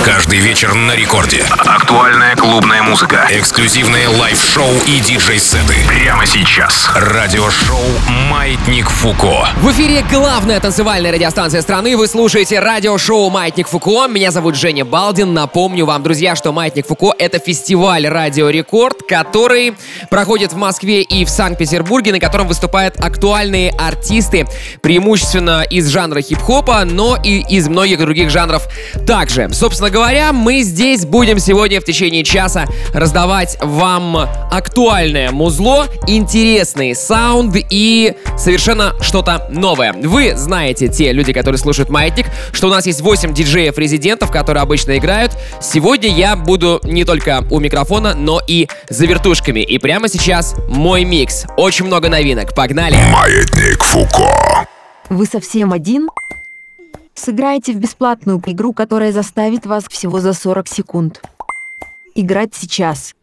Каждый вечер на рекорде. Актуальная клубная музыка. Эксклюзивные лайв-шоу и диджей-сеты. Прямо сейчас. Радиошоу «Маятник Фуко». В эфире главная танцевальная радиостанция страны. Вы слушаете радиошоу «Маятник Фуко». Меня зовут Женя Балдин. Напомню вам, друзья, что «Маятник Фуко» — это фестиваль «Радио Рекорд», который проходит в Москве и в Санкт-Петербурге, на котором выступают актуальные артисты, преимущественно из жанра хип-хопа, но и из многих других жанров также. Собственно говоря, мы здесь будем сегодня в течение часа раздавать вам актуальное музло, интересный саунд и совершенно что-то новое. Вы знаете, те люди, которые слушают «Маятник», что у нас есть 8 диджеев-резидентов, которые обычно играют. Сегодня я буду не только у микрофона, но и за вертушками. И прямо сейчас мой микс. Очень много новинок. Погнали! «Маятник Фуко». Вы совсем один? Сыграйте в бесплатную игру, которая заставит вас всего за 40 секунд. Играть сейчас.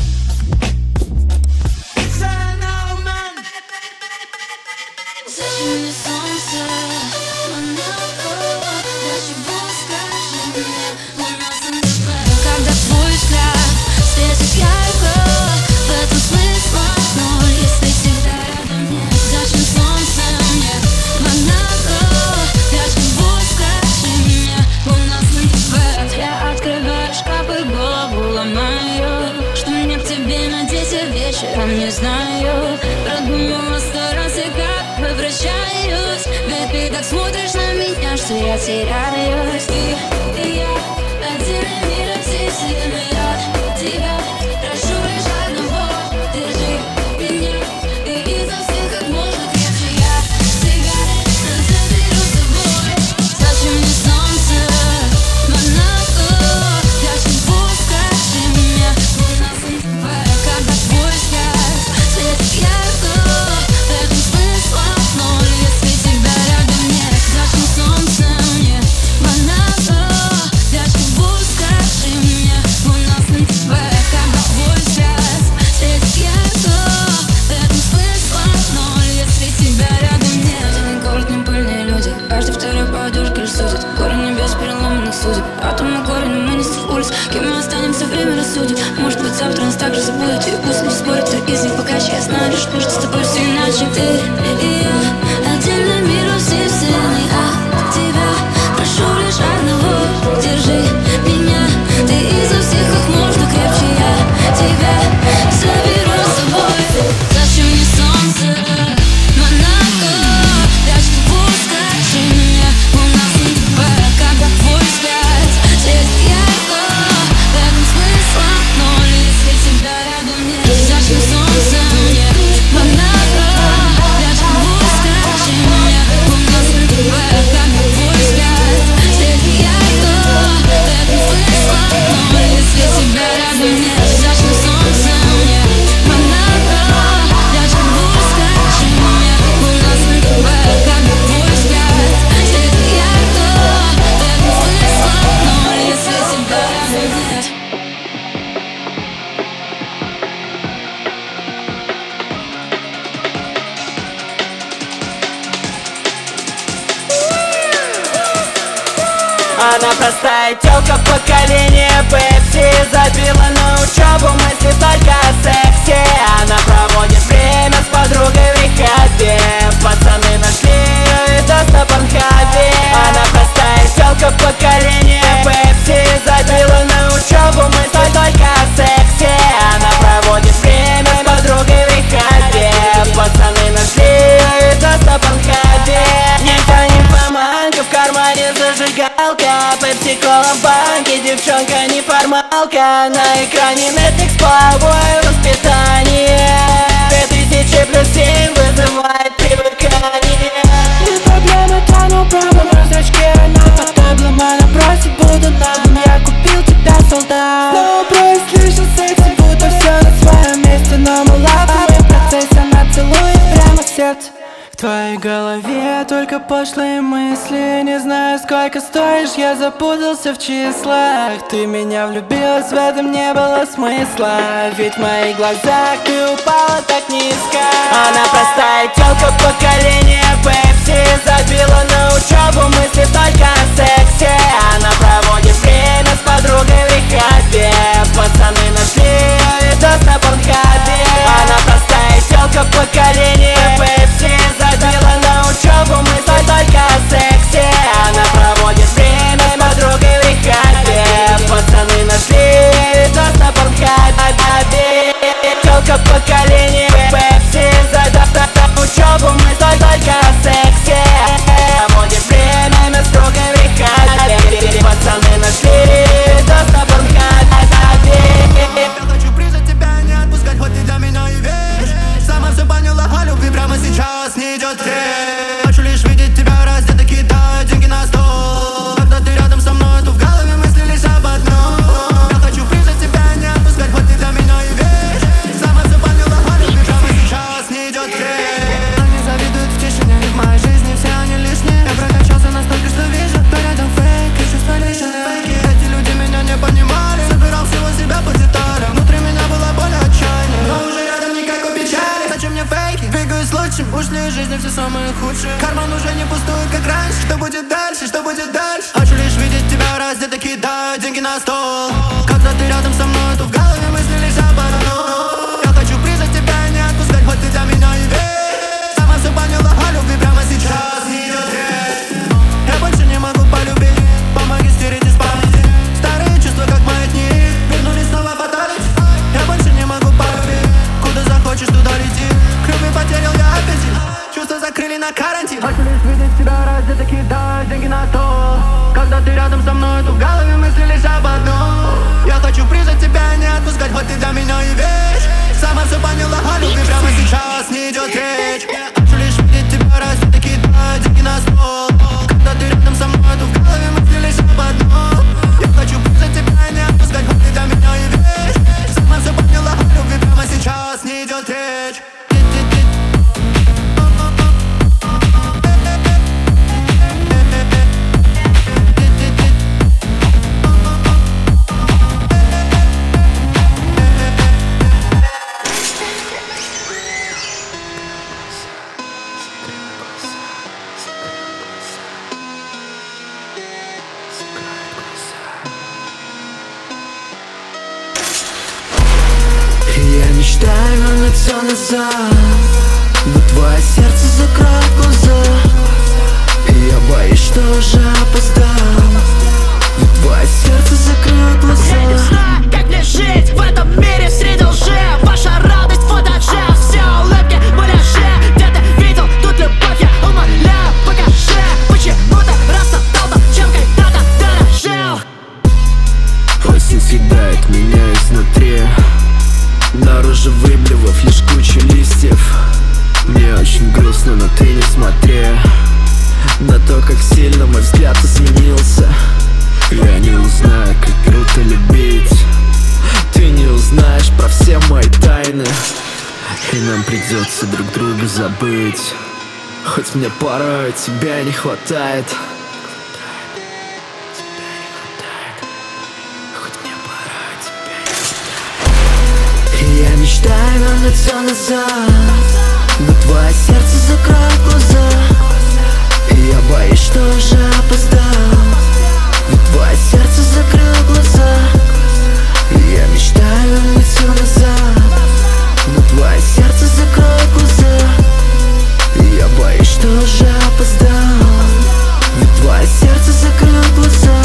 Не знаю, продумала сто раз, и как возвращаюсь. Ведь ты так смотришь на меня, что я теряюсь. И я отдельный мир от всей вселенной. Я тебя прошу лишь одного: держи меня, ты изо всех как можно крепче. Я тебя заберу с собой. Зачем мне солнце, Монако? Я живу, скажи мне, у нас когда твой взгляд светит ярко, в этом смысла ноль, если тебя рядом нет. Зачем солнце мне, Монако? Я живу, скажи мне, у нас на тебе. Когда твой взгляд светит ярко, в этом смысла ноль, если тебя рядом нет. Один город, не пыльные люди, каждый второй по одежке лишь судит. Горы небес переломанных судеб, атомы горы, но мы не с улиц. Кем мы останемся, время рассудит. Может быть, завтра нас так же забудет, и пусть не спорят, кто из них пока я знаю лишь, что с тобой все иначе. Ты и я, отдельный мир от всей вселенной. От тебя прошу лишь одного: держи меня, ты изо всех как можно крепче. Я тебя заберу с собой. Зачем мне солнце, Монако? Я живу, скажи мне, у нас на тебе. Когда твой взгляд светит ярко, в этом смысла ноль, если тебя рядом нет. Зачем солнце мне, Монако? Я живу, скажи мне, у нас на тебе. Когда твой взгляд светит ярко, в этом смысла ноль, если тебя рядом нет. Зачем солнце мне, Монако? Я живу, скажи мне, у нас на тебе. Когда твой взгляд светит ярко, в этом смысла ноль, если тебя рядом нет. Она простая тёлка поколения Пепси, забила на учебу, мысли только о сексе. Она проводит время с подругой в рехабе, пацаны нашли её и даст на Порнхабе. Она простая тёлка поколения Пепси, забила на учебу, мысли только о сексе. Она проводит время с подругой в рехабе, пацаны нашли её и даст на Порнхабе. Никто не поманка, в кармане зажигалка, пепси-кола в банке, девчонка неформалка. На экране Netflix, половое воспитание, 2000 плюс 7 вызывает привыкание. Не проблема, тону пробом в зрачке. Она под таблом, она просит, буду нам. Я купил тебя, солдат. Снова просит, слышал секси, будто все на своем месте. Но мы лапаем в процессе, она целует прямо в сердце. В твоей голове только пошлые мысли. Не знаю, сколько стоишь, я запутался в числах. Ты меня влюбилась, в этом не было смысла. Ведь в моих глазах ты упала так низко. Она простая тёлка поколения Пепси, забила на учебу, мысли только о сексе. Она проводит время с подругой будет дальше? Хочу лишь видеть тебя раздето, кидаю деньги на стол. Когда ты рядом со мной, то в голове мысли лишь об одном. Я хочу прижать тебя, не отпускать, хоть ты для меня и весь. Сама все поняла о любви, прямо сейчас не идет речь. Я больше не могу полюбить, помоги стереть из памяти старые чувства, как маятник, вернулись снова фаталити. Я больше не могу полюбить, куда захочешь, туда лети. К любви потерял я аппетит, чувства закрыли на карантин. Хочу лишь видеть тебя раздето, кидаю деньги на стол. Когда ты рядом со мной, то в голове мысли лишь об одном. Я хочу прижать тебя, не отпускать, хоть ты для меня и вещь. Сама все поняла о любви, прямо сейчас не идет речь. Хочу лишь видеть тебя раздето, кидаю деньги на стол. Когда ты рядом со мной, то в голове мысли лишь об одном. Я хочу прижать тебя, не отпускать, хоть ты для меня и вещь. Сама все поняла о любви, прямо сейчас не идет речь. Я мечтаю вернуть все назад, но твое сердце закроет глаза. И я боюсь, что уже опоздал, но твое сердце закроет глаза. Я не знаю, как мне жить в этом мире среди лжи. Ваша радость фотоджет, все улыбки муляжи. Где ты видел тут любовь, я умоляю, покажи. Почему ты расстал там, чем когда-то дорожил? Осень съедает меня изнутри, наружу выблевав лишь кучу листьев. Мне очень грустно, но ты не смотри на то, как сильно мой взгляд изменился. Я не узнаю, как круто любить. Ты не узнаешь про все мои тайны, и нам придется друг друга забыть. Хоть мне порой тебя не хватает. Я мечтаю вернуть все назад, но твое сердце закроет глаза. И я боюсь, что уже опоздал, ведь твое сердце закрыло глаза. И я мечтаю вернуть все назад, но твое сердце закроет глаза. И я боюсь, что уже опоздал, ведь твое сердце закрыло глаза.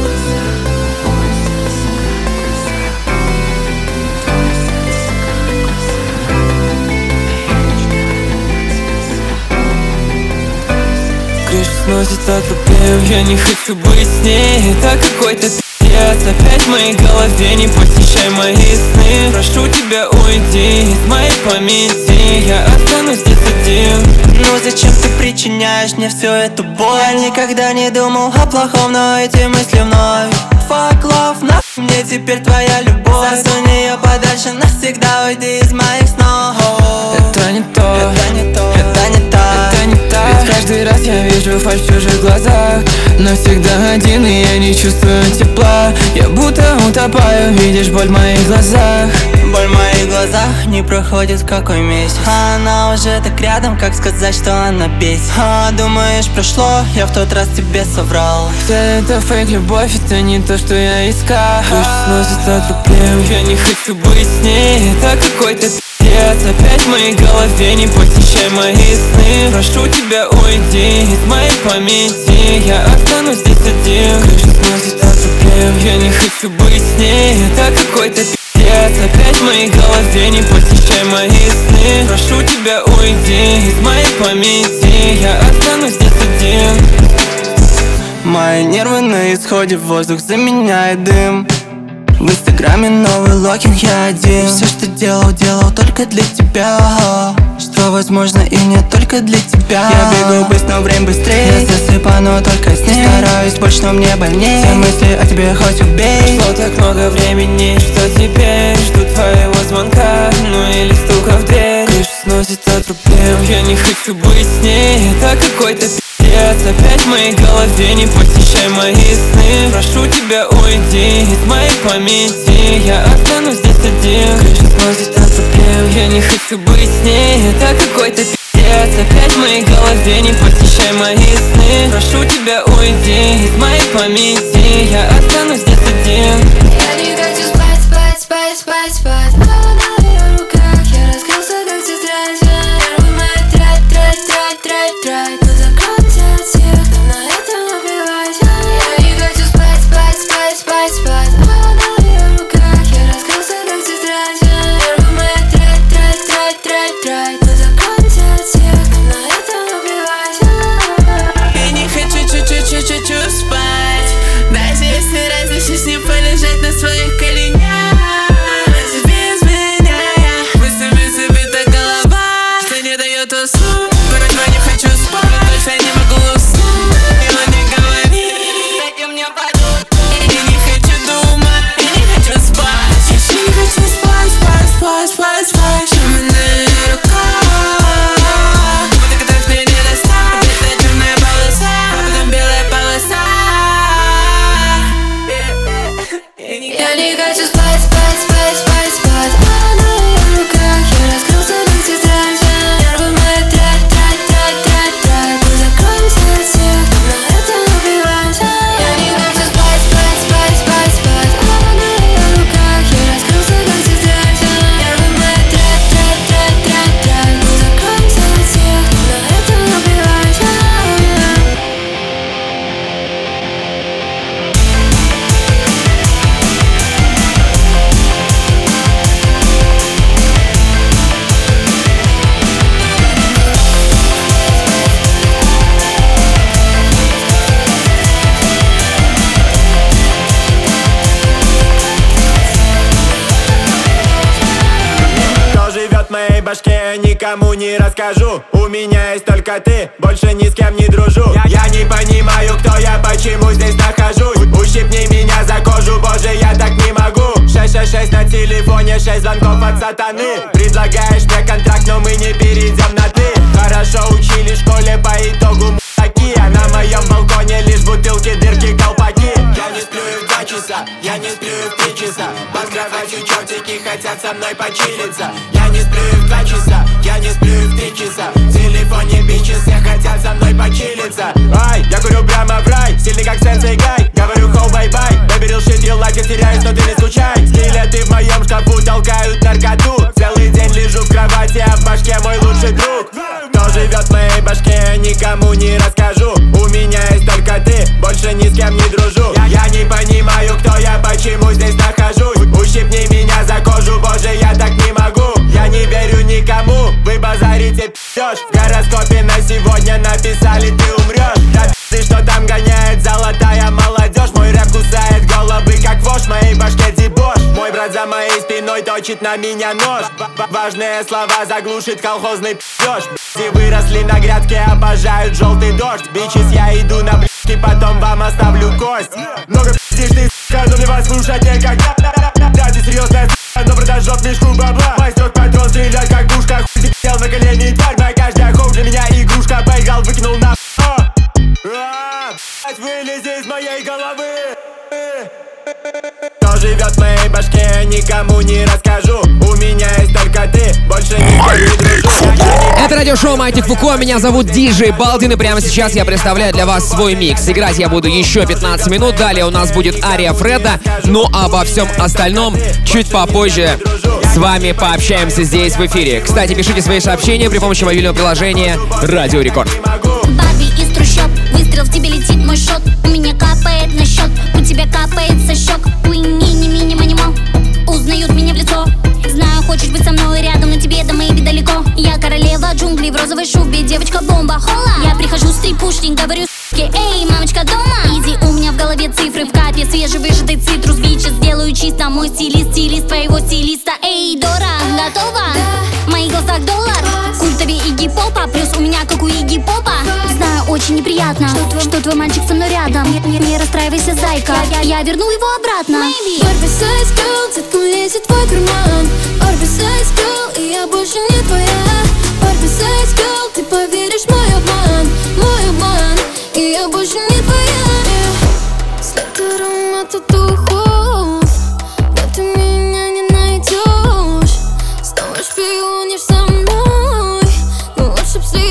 Крышу сносит от проблем, я не хочу быть с ней. Это какой-то пиздец, опять в моей голове. Не посещай мои сны, прошу тебя, уйди из моей памяти. Я останусь здесь один. Ну зачем ты причиняешь мне всю эту боль? Я никогда не думал о плохом, но эти мысли вновь. Fuck love, нахуй мне теперь твоя любовь. Засунь ее подальше, навсегда уйди из моих снов. Это не то, это не то, это не так, это не так. Ведь каждый раз я вижу фальшь в чужих глазах, но всегда один, и я не чувствую тепла. Я будто утопаю, видишь боль в моих глазах. Боль в моих глазах не проходит какой месяц. Она уже так рядом, как сказать, что она бесит. Думаешь, прошло, я в тот раз тебе соврал. Вся эта фейк любовь, это не то, что я искал. Крышу сносит от проблем, я не хочу быть с ней. Это какой-то пиздец, опять в моей голове. Не посещай мои сны, прошу тебя, уйди из моей памяти. Я останусь здесь один. Крышу сносит от проблем, я не хочу быть с ней. Это какой-то пиздец, опять в моей голове. Не посещай мои сны, прошу тебя, уйди из моей памяти. Я останусь здесь один. Мои нервы на исходе, воздух заменяет дым. В инстаграме новый логин, я один. Все, что делал, делал только для тебя. Что возможно и не только для тебя. Я бегу быстро, но время быстрее. Я засыпаю, только с ней. Стараюсь больше, но мне больнее. Все мысли о тебе хоть убей. Прошло так много времени, что теперь жду твоего звонка, ну или стука в дверь. Крышу сносит от проблем, я не хочу быть с ней. Это какой-то пиздец, опять в моей голове. Не посещай мои сны, прошу тебя, уйди из моей памяти. Я останусь здесь один. Крышу сносит от проблем, я не хочу быть с ней. Это какой-то пиздец, пипец. Опять в моей голове, не посещай мои сны. Прошу тебя, уйди из моей памяти, я останусь здесь один. Я не хочу спать, спать, спать, спать, спать. На ее руках я раскрылся, как тетрадь. Нервы мои трать, трать, трать, трать, трать. Но закройтесь от всех, кто на этом убивать. Я не хочу спать, спать, спать, спать, спать. На ее руках я раскрылся, как тетрадь. Нервы мои трать, трать, трать, трать, трать. Но закройтесь от всех, кто на этом убивать. Я не хочу чуть-чуть спать. Даже если разрешишь не полежать на своих коленях. Без меня я мыслями забита голова, что не дает уснуть. Порой не хочу спать, больше не могу уснуть. Его не говори, дайте мне подумать. Я не хочу думать, я не хочу спать. Я еще не хочу спать, спать, спать, спать, спать. Шумы на ее руках, будто которых мне не достать. Это черная полоса, а потом белая полоса. Я не хочу спать, спать, спать, спать, спать. На ее руках я раскрылся, как тетрадь. Нервы мои трать, трать, трать, трать, трать. Мы закроемся от всех, кто на этом убивать. Я не хочу спать, спать, спать, спать, спать. На ее руках я раскрылся, как тетрадь. Нервы мои трать, трать, трать, трать, трать. Мы закроемся от всех, кто на этом убивать. Кто живет в моей башке, никому не расскажу. У меня есть только ты, больше ни с кем не дружу. Я не понимаю, кто я, почему здесь нахожусь. Ущипни меня за кожу, боже, я так не могу. 666 на телефоне, 6 звонков от сатаны. Предлагаешь мне контракт, но мы не перейдем на ты. Хорошо учили в школе, по итогу мудаки. А на моем балконе лишь бутылки, дырки, колпаки. Я не сплю и в 2 часа, я не сплю и в 3 часа. Под кроватью чертики хотят со мной почилиться. Я не сплю и в 2 часа, я не сплю и в 3 часа. В телефоне бичи все хотят со мной почилиться. Ай, я курю прямо в рай, стильный как Сенсей Гай. Говорю хоу бай-бай, baby real shit, you like it, теряюсь, но ты не скучай. Скелеты в моем шкафу толкают наркоту. Целый день лежу в кровати, а в башке мой лучший друг. Кто живет в моей башке, никому не расскажу. У меня есть только ты, больше ни с кем не дружу. Я не понимаю, кто я, почему здесь нахожусь. Ущипни меня за кожу, боже, я так не могу. Я не верю никому, вы базарите, пьешь. В гороскопе на сегодня написали, ты умрешь. Да ты что там гоняет золотая молодежь. Мой рэп кусает головы, как вошь, в моей башке дебош. Мой брат за моей спиной точит на меня нож. Важные слова заглушит колхозный пьешь. И выросли на грядке, обожают желтый дождь. Бичес, я иду на близки, потом вам оставлю кость. Много пиздишь ты, сука, но мне вас слушать некогда. Да, ты серьезная сука, но продажет мешку бабла. Майстрок патрон, стрелять как пушка. Хуй ты сел на колени, тварь моя, каждый охов для меня игрушка. Поиграл, выкинул на вылези из моей головы. Кто живет в моей башке, никому не расскажу. У меня есть только ты, больше никто не дружу. Это радиошоу «Маятник Фуко», меня зовут Диджей Балдин, и прямо сейчас я представляю для вас свой микс. Играть я буду еще 15 минут, далее у нас будет ария Фреда, ну а обо всем остальном чуть попозже с вами пообщаемся здесь в эфире. Кстати, пишите свои сообщения при помощи мобильного приложения «Радио Рекорд». Барби из трущоб, выстрел, в тебе летит мой шот. У меня капает на счет, у тебя капает со щек. Мини-мини-манимал, узнают меня в лицо. Знаю, хочешь быть со мной рядом, но тебе до моей далеко. Я королева джунглей в розовой шубе, девочка-бомба, хола. Я прихожу с трипушник, говорю с***ке, эй, мамочка дома. Иди, у меня в голове цифры, в капе свежевыжатый цитрус. Бичес, сделаю чисто, мой стилист, стилист твоего стилиста. Эй, Дора, готова? В моих глазах доллар, культовый Игги Попа, плюс у меня как у Игги Попа. Знаю, очень неприятно, что твой мальчик со мной рядом. Не расстраивайся, зайка, я верну его обратно. Oversize girl, детка лезет в твой карман. Oversize girl, и я больше не твоя. Oversize girl, ты поверишь в мой обман, и я больше не твоя. След аромата духов, да ты меня не найдешь. Снова шпионишь за мной, но лучше б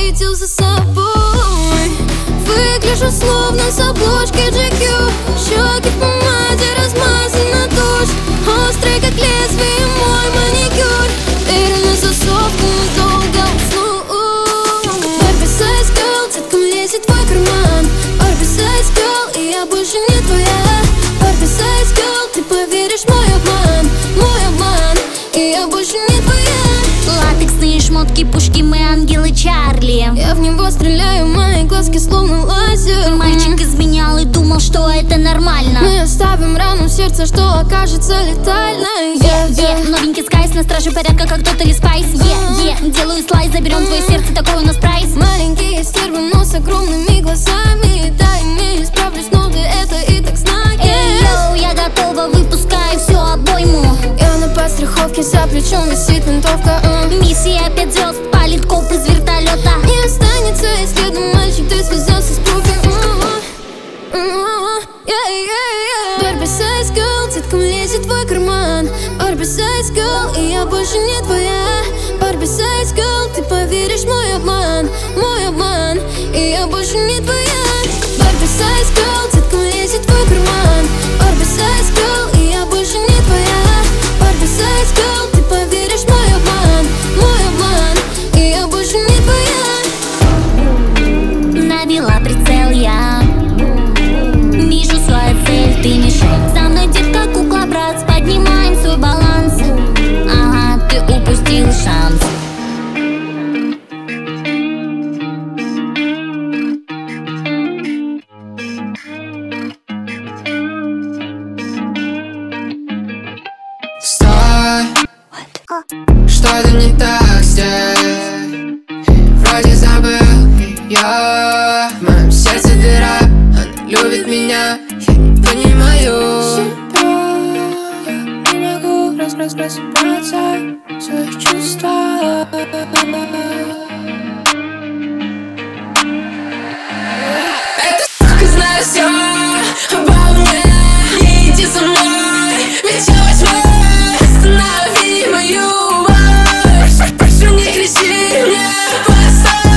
словно с обложки GQ. Щеки в помаде, размазана тушь, острый как лезвие мой маникюр. Двери на засовку, но долго усну. Барби Size Girl, деткам лезет в твой карман. Барби Size Girl, и я больше не твоя. Барби Size Girl, ты поверишь в мой обман, и я больше не твоя. Латексные шмотки, пушки, мы ангелы Чарли. Я в него стреляю, мои глазки словно лазер. Мальчик изменял и думал, что это нормально. Мы оставим рану в сердце, что окажется летальной. Новенький скайс, на страже порядка, как Тотали Спайс. Делаю слайс, заберем твое сердце, такой у нас прайс. Маленькие стервы, но с огромными глазами. Да, имею, справлюсь, но ты это и так знай. Йоу, я готова, выпускаю всю обойму. Я на подстраховке, за плечом висит винтовка. Миссия 5 звезд, палит коп из вертолета. Не останется и следа, мальчик, ты связался с профи. Барби Size Girl, деткам лезет в твой карман. Барби Size Girl, и я больше не твоя. Барби Size Girl, ты поверишь в мой обман, и я больше не твоя. Барби Size Girl, деткам лезет в твой карман. Барби Size Girl, и я больше не твоя. Барби Size Girl, ты поверишь в мой обман, и я больше не твоя. Навела прицел я, вижу свою цель, ты мишень. Со мной детка, кукла, брат, поднимаем свой баланс. Ага, ты упустил шанс. Стой, что-то не так здесь. Вроде забыл ее. В моем сердце дыра, она любит меня. Я не понимаю себя, я не могу разобраться в своих чувствах. Эта сука знает все обо мне. Не иди со мной, ведь я возьму. Останови мою боль, прошу, не кричи мне. Постой,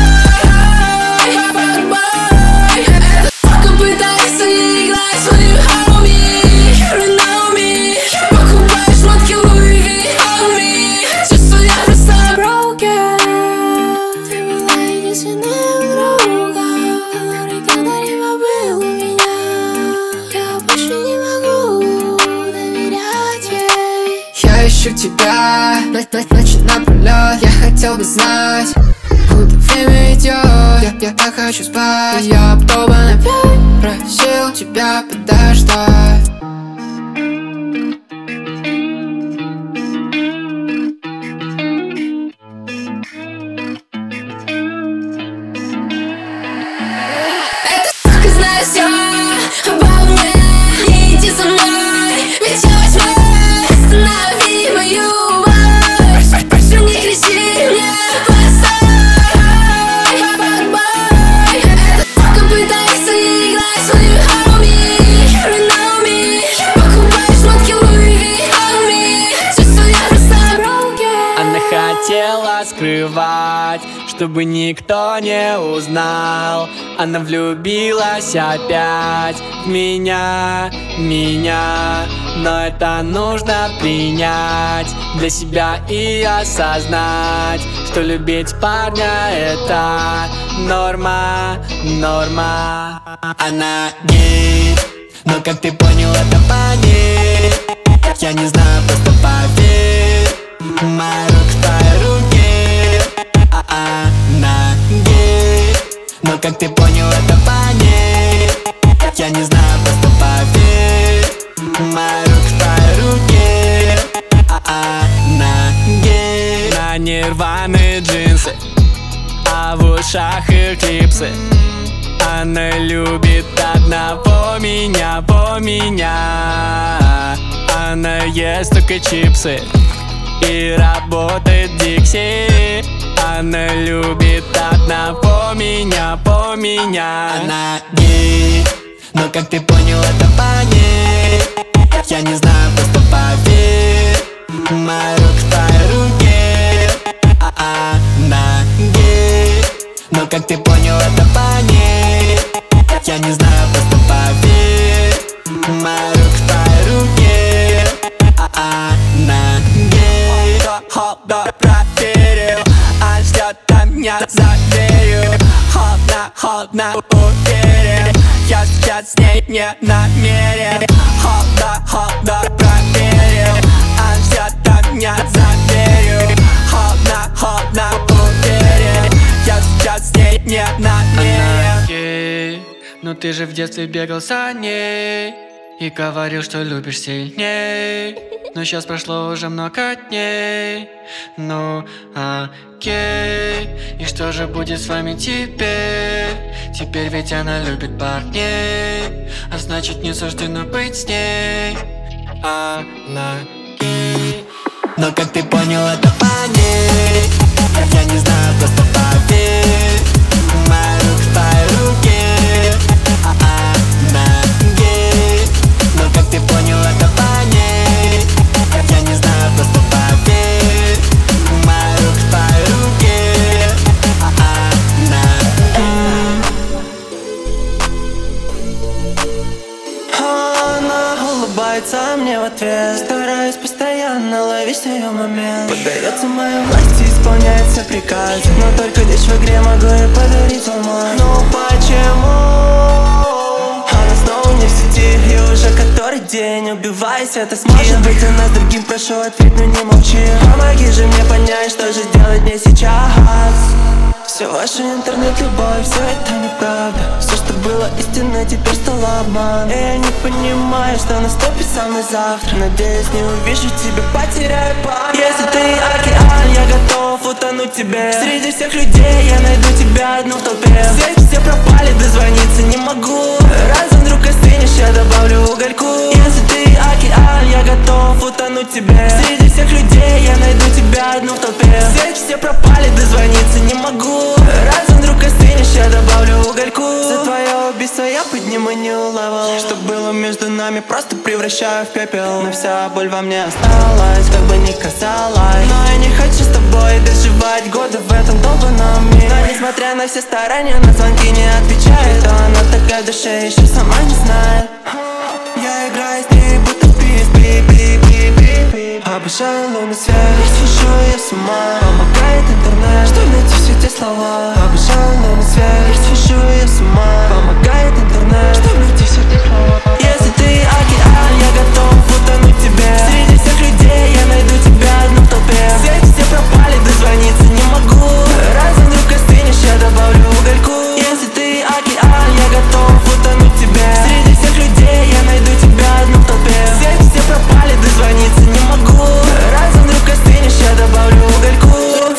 эта сука пытается играть свою homie. You know me, покупаю шмотки Louis V on me. Чувствую, я просто broken. Ты была единственным другом, который когда-либо был у меня. Я больше не могу доверять ей. Я ищу тебя, ночь напролёт. Я хотел бы знать, куда время идет. Я так хочу спать. Я б опять просил тебя подождать. Эта сука знает все обо мне. Не иди со мной, ведь я возьму. Останови мою боль, прошу, не кричи мне. Постой, эта сука пытается играть свою homie. You know me, покупаю шмотки Louis V on me. Чувствую, я просто broken. Она хотела скрывать, чтобы никто не узнал. Она влюбилась опять в меня. Но это нужно принять для себя и осознать, что любить парня это норма. Она гей, но как ты понял, это по ней. Я не знаю, просто поверь. Моя рука в твоей руке. Она гей, но как ты понял, это по ней. Я не знаю, просто поверь. Моя рука в твоей руке. Она гей. На ней рваные джинсы, а в ушах эклипсы. Она любит одного меня. Она ест только чипсы и работает в Дикси. Она любит одного меня. Она гей, но как ты понял, это по ней. Я не знаю, просто поверь. Моя рука в твоей руке. Она гей, но как ты понял, это по ней. Я не знаю, просто холодно, уверен. Я сейчас с ней не намерен. Холодно, проверил. Она ждет меня за дверью. Холодно, уверен. Я сейчас с ней не намерен. Но ты же в детстве бегал за ней и говорил, что любишь сильней. Но сейчас прошло уже много дней. Ну окей. И что же будет с вами теперь? Теперь ведь она любит парней, а значит не суждено быть с ней. Она гей. Но как ты понял, это по ней. Я не знаю, просто поверь. Моя рука в твоей руке. Она гей. Но как ты понял, это по ней. Я не знаю, просто поверь. Моя рука в твоей руке. Она Она улыбается мне в ответ. Стараюсь постоянно ловить ее момент. Поддается моей власти, исполняет все приказы. Но только лишь в игре могу ей подарить алмаз. Но почему она снова не в сети? И уже который день убиваясь, это сможет быть у нас другим, прошу ответь, но не молчи. Помоги же мне понять, что же делать мне сейчас. Все ваша интернет-любовь, все это неправда. Все, что было истинно, теперь стало обман. И я не понимаю, что наступит со мной завтра. Надеюсь, не увижу тебя, потеряю память. Если ты океан, я готов утонуть тебе. Среди всех людей я найду тебя одну в толпе. Все пропали, дозвониться не могу. Раз вдруг остынешь, я добавлю угольку. Если ты океан, я готов утонуть тебе. Среди всех людей я найду тебя одну в толпе. Все пропали, дозвониться не могу. Раз вдруг остынешь, я добавлю угольку. За твое убийство я подниму new level. Что было между нами, просто превращаю в пепел. Но вся боль во мне осталась, как бы ни казалось. Но я не хочу с тобой доживать годы в этом долбанном мире. Но несмотря на все старания, на звонки не отвечает. То она такая в душе, еще сама не знает. Я играю с ней, будто в пип-пип-пип-пип-пип. Обожаю лунный свет, свожу ее с ума. Помогает интернет, что найти все те слова. Обожаю лунный свет, свожу ее с ума. Помогает интернет, что найти все те слова. Если ты океан, я готов утонуть тебе. Среди всех людей я найду тебя одну в толпе. Все пропали, дозвониться не могу. Раз вдруг остынешь, я добавлю угольку. Если ты океан, я готов утонуть тебе. Среди всех людей я найду тебя одну в толпе. Все пропали, дозвониться не могу. Раз вдруг остынешь, я добавлю угольку.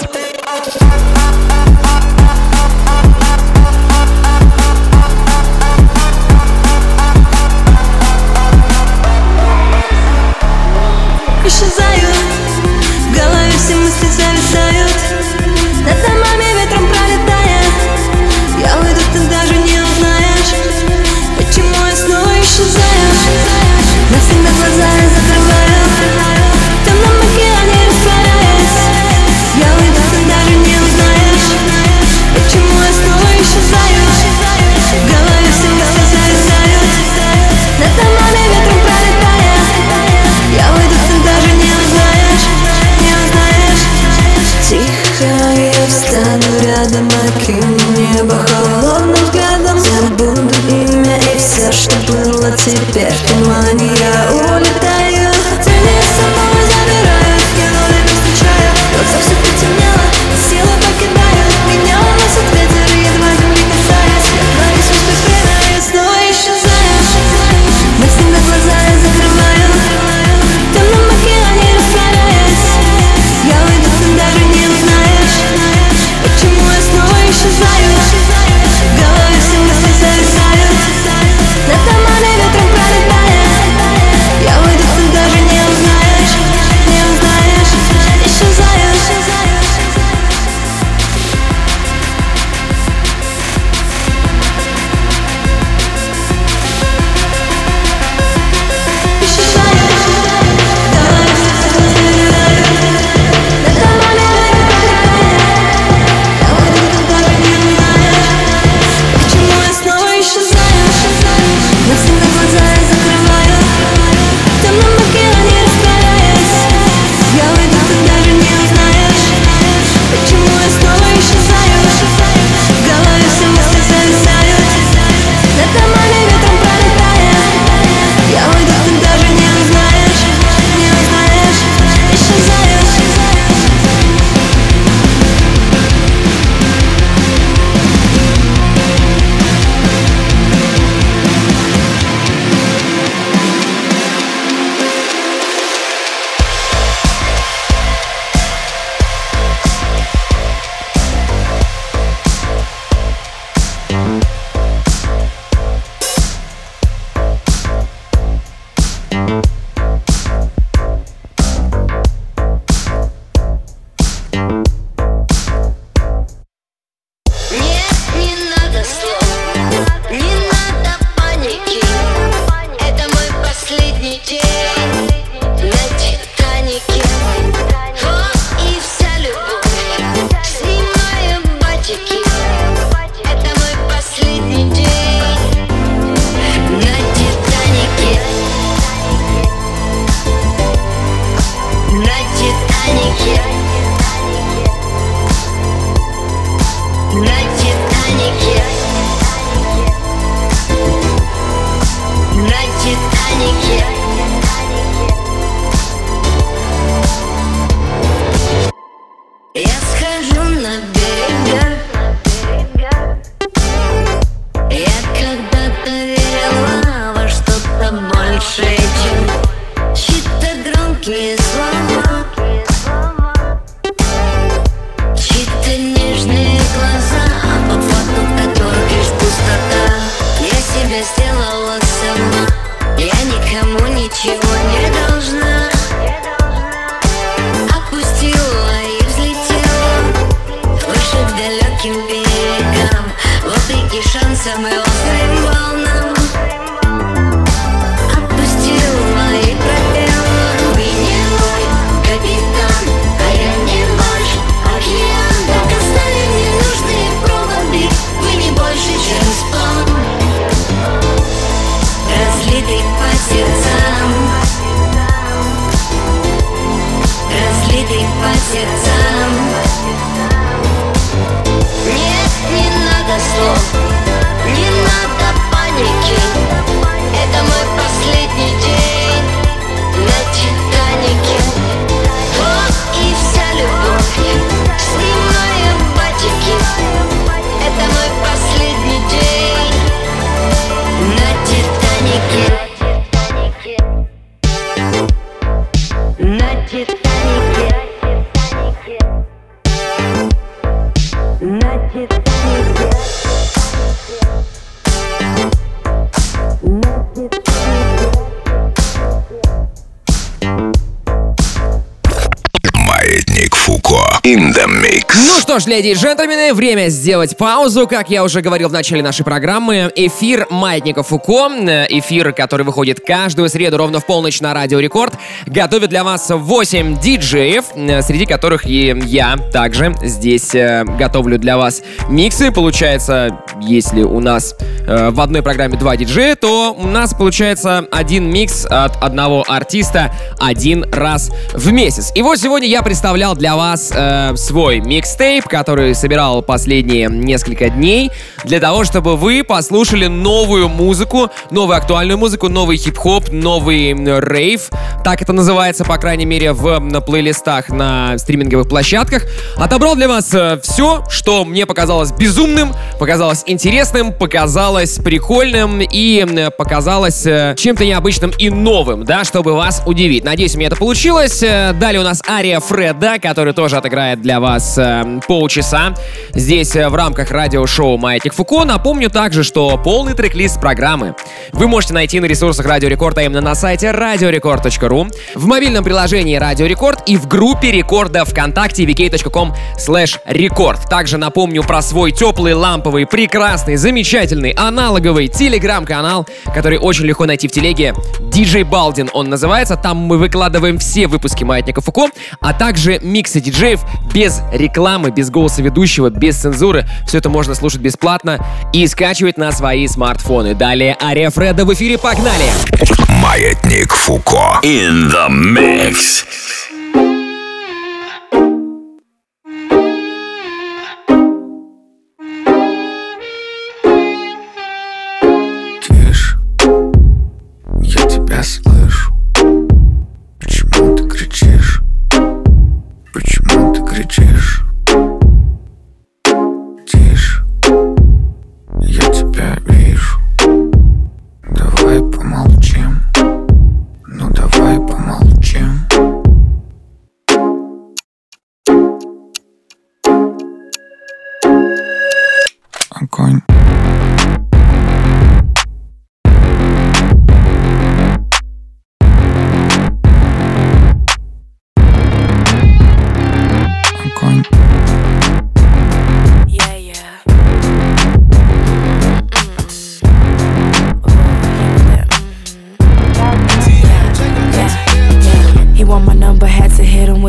Исчезаю, в голове все мысли зависают. Над домами ветром пролетая, я уйду, ты даже не узнаешь, почему я снова исчезаю. Навсегда глаза я закрываю, в темном океане растворяюсь. Я уйду, ты даже не узнаешь, почему я снова исчезаю. В голове все мысли зависают, над домами ветром пролетая, я уйду, ты даже не узнаешь, не узнаешь. Тихо я встану рядом, окину небо холодным взглядом. Забуду имя и все, что было теперь в тумане. Я улетаю, тени с собой забираю. Я вновь не встречаю, глаза все потемнело, силы покидают меня, уносит ветер, едва земли касаясь. Я творю все сквозь время, я снова исчезаю. Навсегда глаза я закрываю, в темном океане растворяюсь. Я уйду, ты даже не узнаешь, почему я снова исчезаю. В голове все мысли зависают, над домами ветром пролетая, я уйду. Ну что ж, леди и джентльмены, время сделать паузу. Как я уже говорил в начале нашей программы, эфир Маятника Фуко, эфир, который выходит каждую среду ровно в полночь на Радио Рекорд, готовит для вас 8 диджеев, среди которых и я также здесь готовлю для вас миксы. Получается, если у нас в одной программе 2 диджея, то у нас получается один микс от одного артиста один раз в месяц. И вот сегодня я представлял для вас свой микстейп, который собирал последние несколько дней, для того, чтобы вы послушали новую музыку, новую актуальную музыку, новый хип-хоп, новый рейв, так это называется, по крайней мере, на плейлистах на стриминговых площадках. Отобрал для вас все, что мне показалось безумным, показалось интересным, показалось прикольным и показалось чем-то необычным и новым, да, чтобы вас удивить. Надеюсь, у меня это получилось. Далее у нас ария Фреда, который тоже отыграет для вас полчаса здесь в рамках радиошоу «Маятник Фуко». Напомню также, что полный трек-лист программы вы можете найти на ресурсах Радио Рекорд, а именно на сайте radiorecord.ru, в мобильном приложении Радио Рекорд и в группе Рекорда ВКонтакте vk.com/record. Также напомню про свой теплый, ламповый, прекрасный, замечательный, аналоговый телеграм-канал, который очень легко найти в телеге. DJ Балдин он называется. Там мы выкладываем все выпуски Маятника Фуко, а также миксы диджеев без рекламы, без голоса ведущего, без цензуры. Все это можно слушать бесплатно и скачивать на свои смартфоны. Далее ария Фреда в эфире, погнали! Маятник Фуко in the mix. Тише, я тебя слышу. Почему ты кричишь? Почему ты кричишь? Тише, я тебя вижу. Давай помолчим. Ну давай помолчим. Огонь.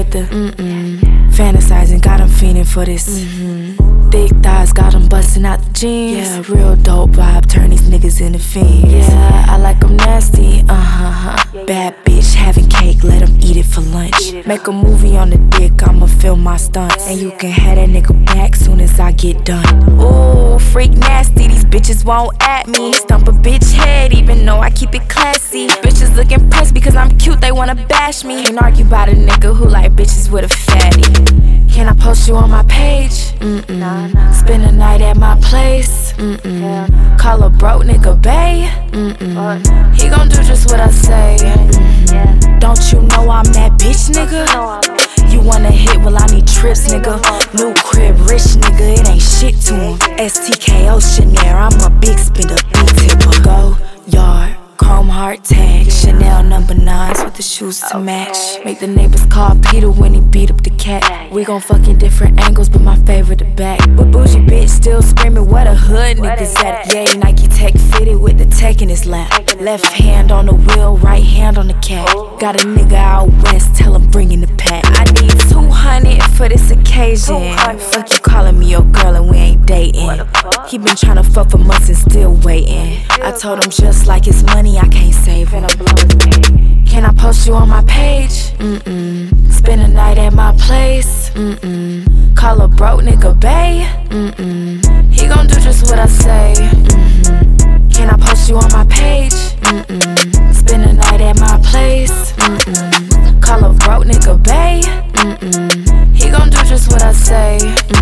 with the fantasizing, got 'em fiending for this. Thick thighs, got 'em busting out the jeans. Yeah, real dope vibe, turn these niggas into fiends. Yeah, I like 'em nasty, Bad bitch having cake, let 'em eat it for lunch. Make a movie on the dick, I'ma film my stunts. And you can have that nigga back soon as I get done. Ooh, freak nasty, these bitches won't at me. Stump a bitch head, even though I keep it classy. Bitches look impressed because I'm cute, they wanna bash me. Can't argue about a nigga who like bitches with a fatty. Can I post you on my page? Spend a night at my place? Call a broke nigga bae? He gon' do just what I say. Don't you know I'm that bitch, nigga? You wanna hit, well I need trips, nigga. New crib, rich nigga, it ain't shit to him. STKO Chanel, I'm a big spender, big tipper. Go yard, chrome heart tag, Chanel number 9s with the shoes to match. Make the neighbors call Peter when he beat up the cat. We gon' fuck in different angles, but my favorite the back. But bougie bitch still screaming, what a hood niggas at. Yay, Nike Tech fitted with the tech in his lap. Left hand on the wheel, right hand on the cat. Got a nigga out west, tell him bring in the pack. I need 200 for this occasion. Fuck you calling me your girl and we ain't dating. He been tryna fuck for months and still waiting. I told him just like his money, I can't save him. Can I post you on my page? Spend a night at my place? Call a broke nigga bae? He gon' do just what I say. Can I post you on my page? Spend a night at my place? Call a broke nigga bae? He gon' do just what I say.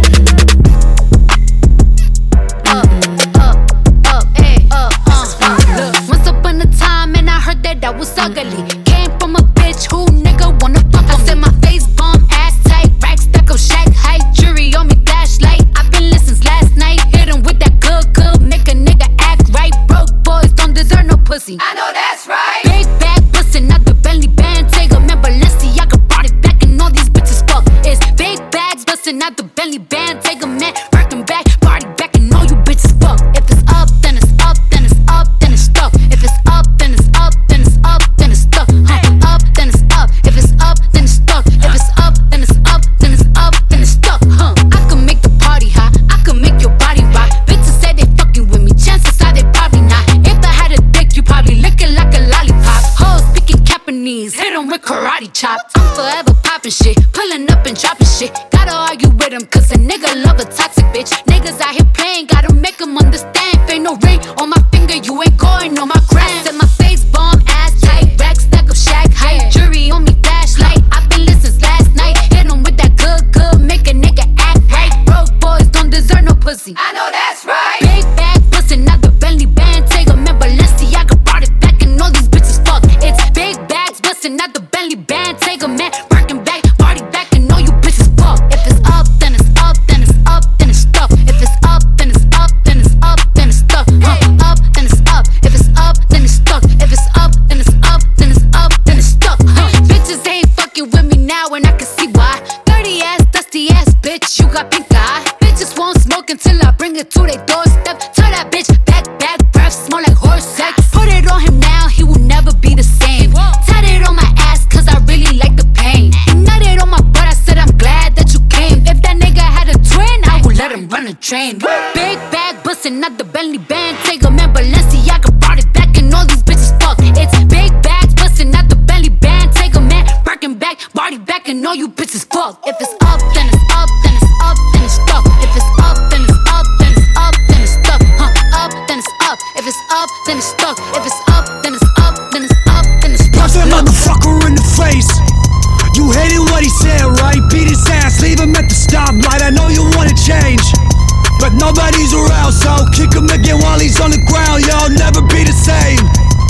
Once upon a time and I heard that I was ugly. Came from a bitch who nigga wanna fuck. I said my face bomb, ass tight, rack stack of shack height, jury on me flashlight. I've been listening since last night. Hit him with that good, make a nigga act right. Broke boys don't deserve no pussy. I know that's right. Big bag bustin' out the Bentley band. Take a man Balenciaga brought it back and all these bitches fuck. It's big bags bustin' out the Bentley band. Take a man working back, party back and all you bitches fuck. If it's up, then it's up, then it's up, then it's stuck. If it's up, then it's up, then it's up, then it's stuck. Up, then it's up. If it's up, then it's stuck. If it's up, then it's up, then it's up, then it's stuck. I can make the party hot. I can make your body rock. Bitches say they fucking with me. Chances are they probably not. If I had a dick, you probably lick it like a lollipop. Hoes speaking Japanese, hit 'em with karate chops. I'm forever popping shit, pulling up and dropping shit. Gotta argue with him, cause a nigga love a toxic bitch. Niggas out here playing, gotta make 'em understand. If ain't no ring on my finger, you ain't going on my gram. Said my face bomb, ass tight, rack stack of shack height, jury on me flashlight. I've been listening since last night. Hit 'em with that good, make a nigga act right. Broke boys don't deserve no pussy. I know that's right. Big bag bustin' out the Bentley band. Take a man Balenciaga brought it back and all these bitches fuck. It's big bags bustin' out the Bentley band. Take a man working back, party back and all you bitches fuck. If it's up, then it's up, then it's up, then it's stuck. If it's up, then it's up, then it's up, then it's stuck. Up, then it's up. If it's up, then it's stuck. If it's up, then it's up, then it's up, then it's stuck. Bitches ain't fucking with me now and I can see why. Dirty ass, dusty ass bitch, you got pink eye. Bitches won't smoke until I bring it to their doorstep. Tell that bitch back, breath, smell like horse sex. Put it on him now, he will never be the same. Tat it on my ass cause I really like the pain. And nutted on my butt, I said I'm glad that you came. If that nigga had a twin, I would let him run a train. Big bag bustin' out the Bentley band. Take a man Balenciaga brought it back and all these bitches fuck. It's big bags bustin' out the Bentley band. Take a man working back, body back and all you bitches fuck. If it's up, then it's up, then it's up, then it's stuck. If it's up, then it's up, then it's up, then it's stuck. Up, then it's up. If it's up, then it's stuck. If it's up, then it's up, then it's up, then it's stuck. Punch that motherfucker in the face. You hated what he said, right? Beat his ass, leave him at the stoplight. I know you wanna change, but nobody's around, so kick him again while he's on the ground. You'll never be the same.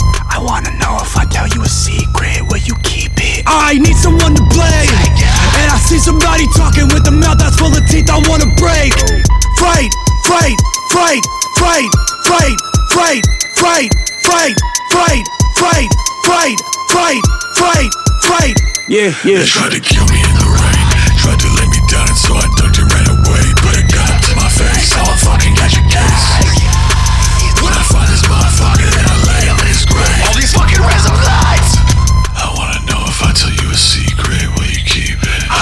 I wanna know if I tell you a secret, will you keep it? I need someone to blame, and I see somebody talking with a mouth that's full of teeth I wanna break. Fight, fight, fight, fight, fight, fight, fight, fight, fight, fight, fight, fight, fight, fight. Yeah. They tried to kill me in the rain, tried to lay me down, and so I ducked and ran away. Put a gun up to my face, I'ma fucking catch a case. When I find this motherfucker, then I lay him in his grave. All these fucking random lies. I wanna know if I tell you a secret, will you keep it?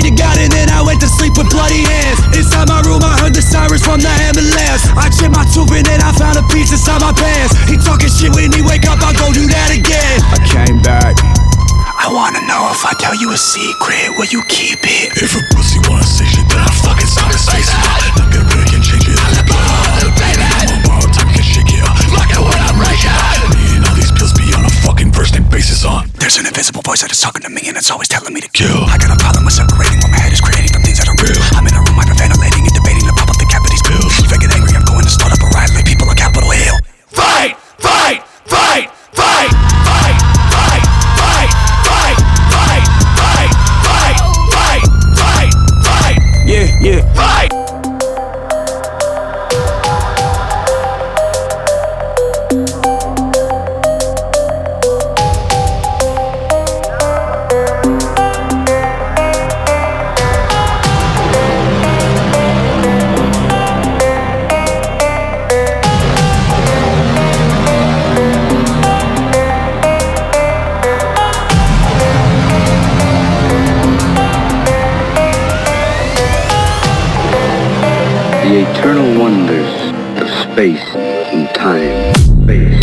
you got it, then I went to sleep with bloody hands. Inside my room I heard the sirens from the ambulance. I chipped my tooth and then I found a piece inside my pants. He talking shit, when he wake up I'll go do that again. I came back. I wanna know if I tell you a secret, will you keep it? If a pussy wanna say shit, then I fucking suck his face. Not gonna break and change it. Baby, I'm on borrowed time, can shake it up. Look at what I'm breaking. Me and all these pills be on a fucking first name basis on. There's an invisible voice that is talking to me and it's always telling me to kill. I got a problem with separating what my head is creating from things that are real. I'm in a room hyperventilating and debating to pop up the cap of these pills. If I get angry, I'm going to start up a riot like people on Capitol Hill. Fight! Fight! Fight! Fight! Fight! Fight! Fight! Fight! Fight! Fight! Fight! Fight! Fight! Fight! Yeah, yeah. Fight! The eternal wonders of space and time. Space.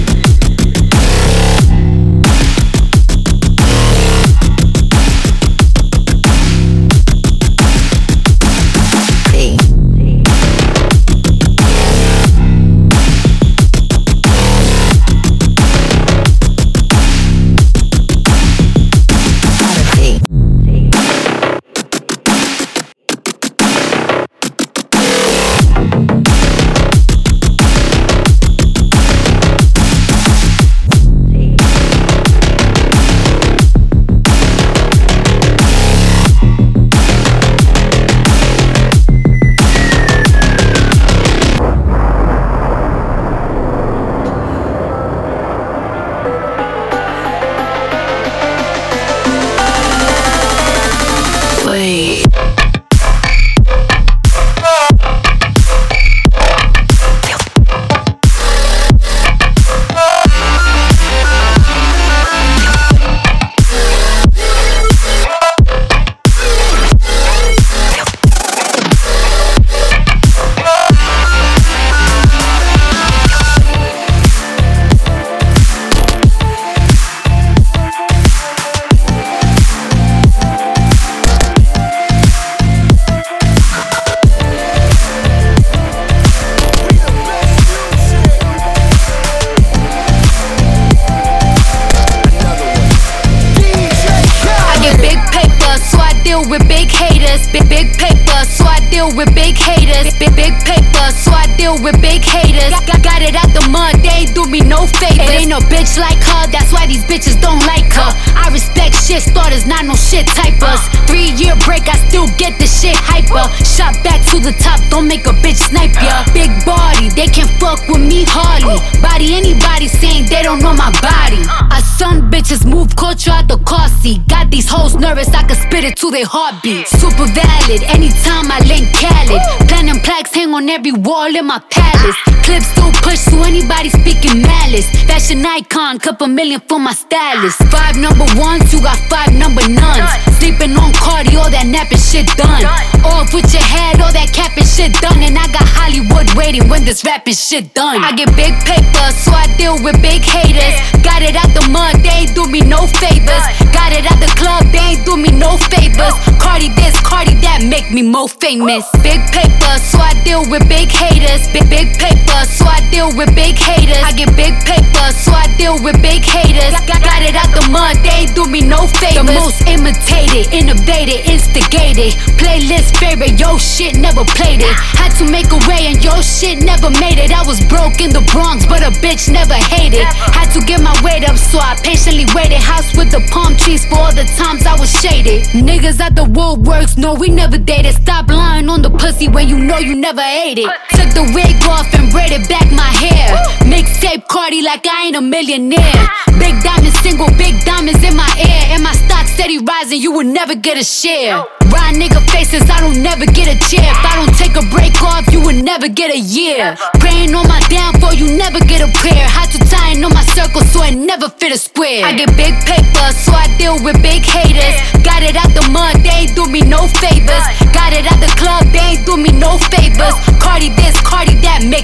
with big haters, big paper, so I deal with big haters. Got it out the mud, they ain't do me no favors. Ain't no bitch like her, that's why these bitches don't like her. I respect shit starters, not no shit typers. 3-year break, I still get the shit hyper. Shot back to the top, don't make a bitch snipe ya. Big body, they can fuck with me hardly. Body anybody saying they don't know my body. I son bitches move culture out the car seat. Got these hoes nervous, I can spit it to their heartbeat. Super valid, anytime I link Khaled. Platinum plaques hang on every wall in my palace. Clips still push to anybody speaking malice. Fashion icon, couple million for my stylist. 5 number ones, you got 5 number nuns. Sleeping on Cardi, all that napping shit done. Off with your head, all that capping shit done. And I got Hollywood waiting when this rapping shit done. I get big paper, so I deal with big haters. Got it out the mud, they ain't do me no favors. Got it out the club, they ain't do me no favors. Cardi this, Cardi that, make me more famous. Big paper, so I deal with big haters. Big paper, so I deal with big haters. I get big paper, so I deal with big haters. Got it out the mud, they ain't do me no favors. The most imitated, innovated, instigated. Playlist favorite, yo shit never played it. Had to make a way and yo shit never made it. I was broke in the Bronx, but a bitch never hated. Had to get my weight up, so I patiently waited. House with the palm trees for all the times I was shaded. Niggas at the Woolworks, no we never dated. Stop lying on the pussy when you know you never ate it. Took the wig off and braided back my hair. Mixtape Cardi like I ain't a millionaire. Big diamonds single, big diamonds in my ear. And my stock steady rising, you will never get a share. Ride nigga faces, I don't never get a chair. If I don't take a break off, you will never get a year. Praying on my downfall, you never get a prayer. Had to tie in on my circle so I never fit a square. I get big paper, so I deal with big haters. Got it out the mud, they ain't do me no